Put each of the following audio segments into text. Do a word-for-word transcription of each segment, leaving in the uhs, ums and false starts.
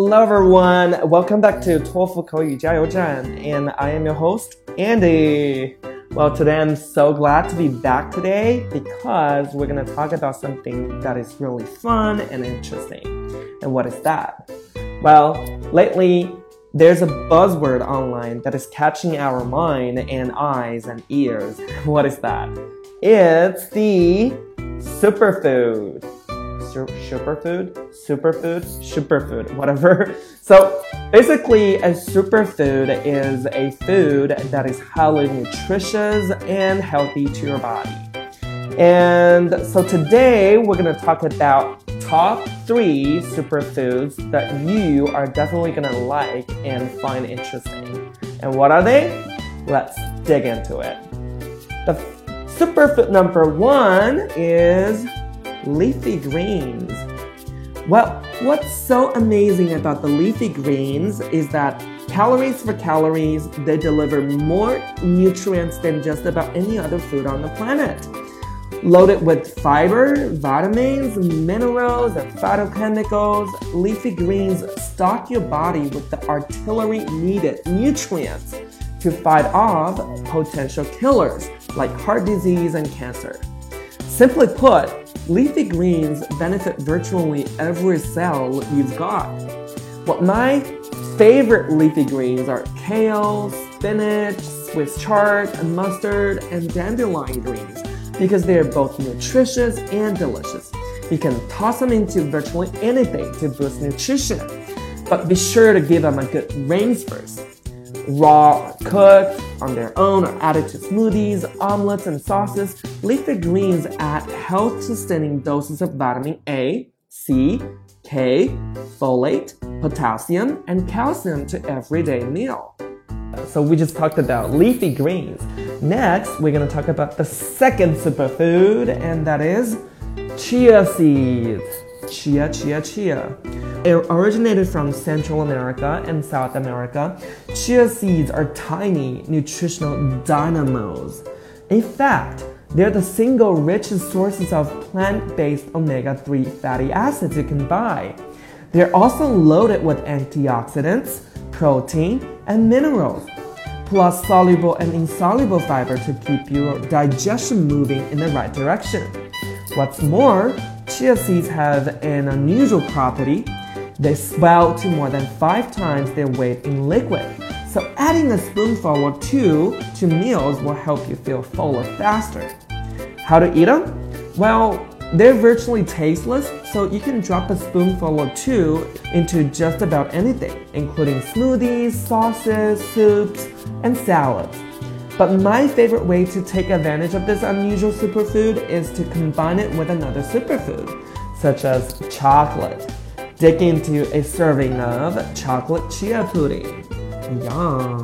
Hello everyone, welcome back to 托福口语加油站 and I am your host, Andy. Well, today I'm so glad to be back today because we're going to talk about something that is really fun and interesting. And what is that? Well, lately, there's a buzzword online that is catching our mind and eyes and ears. What is that? It's the superfood. Superfood? Superfood? Superfood, whatever. So basically, a superfood is a food that is highly nutritious and healthy to your body. And so today, we're going to talk about top three superfoods that you are definitely going to like and find interesting. And what are they? Let's dig into it. The superfood number one is leafy greens. Well, what's so amazing about the leafy greens is that calories for calories, they deliver more nutrients than just about any other food on the planet. Loaded with fiber, vitamins, minerals, and phytochemicals, leafy greens stock your body with the artillery needed nutrients to fight off potential killers like heart disease and cancer. Simply put, leafy greens benefit virtually every cell you've got. Well, my favorite leafy greens are kale, spinach, Swiss chard, mustard, and dandelion greens because they are both nutritious and delicious. You can toss them into virtually anything to boost nutrition, but be sure to give them a good rinse first. Raw or cooked, on their own, or added to smoothies, omelets, and sauces, leafy greens add health-sustaining doses of vitamin A, C, K, folate, potassium, and calcium to everyday meal. So we just talked about leafy greens. Next, we're going to talk about the second superfood, and that is chia seeds. Chia, chia, chia. It originated from Central America and South America. Chia seeds are tiny, nutritional dynamos. In fact, they're the single richest sources of plant-based omega three fatty acids you can buy. They're also loaded with antioxidants, protein, and minerals, plus soluble and insoluble fiber to keep your digestion moving in the right direction. What's more, chia seeds have an unusual property. They swell to more than five times their weight in liquid. So adding a spoonful or two to meals will help you feel fuller faster. How to eat them? Well, they're virtually tasteless, so you can drop a spoonful or two into just about anything, including smoothies, sauces, soups, and salads. But my favorite way to take advantage of this unusual superfood is to combine it with another superfood, such as chocolate. Dig into a serving of chocolate chia pudding. Yum!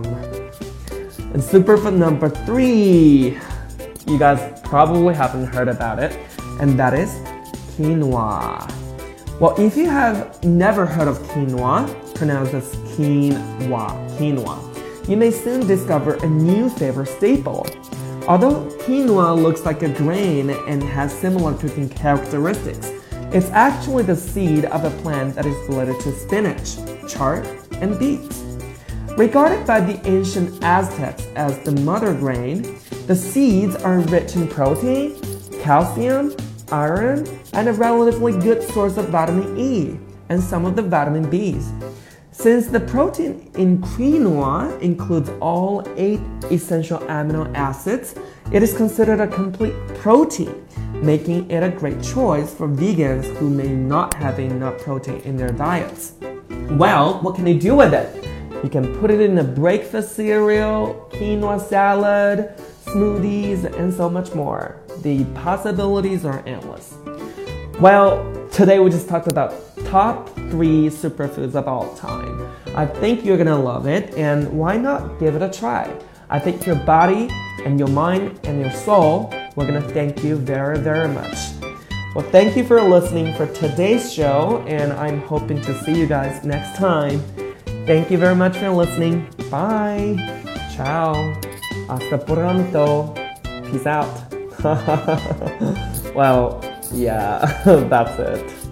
And superfood number three, you guys probably haven't heard about it, and that is quinoa. Well, if you have never heard of quinoa, pronounced as quinoa, quinoa, you may soon discover a new favorite staple. Although quinoa looks like a grain and has similar cooking characteristics, it's actually the seed of a plant that is related to spinach, chard, and beets. Regarded by the ancient Aztecs as the mother grain, the seeds are rich in protein, calcium, iron, and a relatively good source of vitamin E and some of the vitamin B's. Since the protein in quinoa includes all eight essential amino acids, it is considered a complete protein, making it a great choice for vegans who may not have enough protein in their diets. Well, what can you do with it? You can put it in a breakfast cereal, quinoa salad, smoothies, and so much more. The possibilities are endless. Well, today we just talked about top three superfoods of all time. I think you're gonna love it, and why not give it a try? I think your body and your mind and your soul, we're gonna thank you very, very much. Well, thank you for listening for today's show, and I'm hoping to see you guys next time. Thank you very much for listening. Bye. Ciao. Hasta pronto. Peace out. Well, yeah, that's it.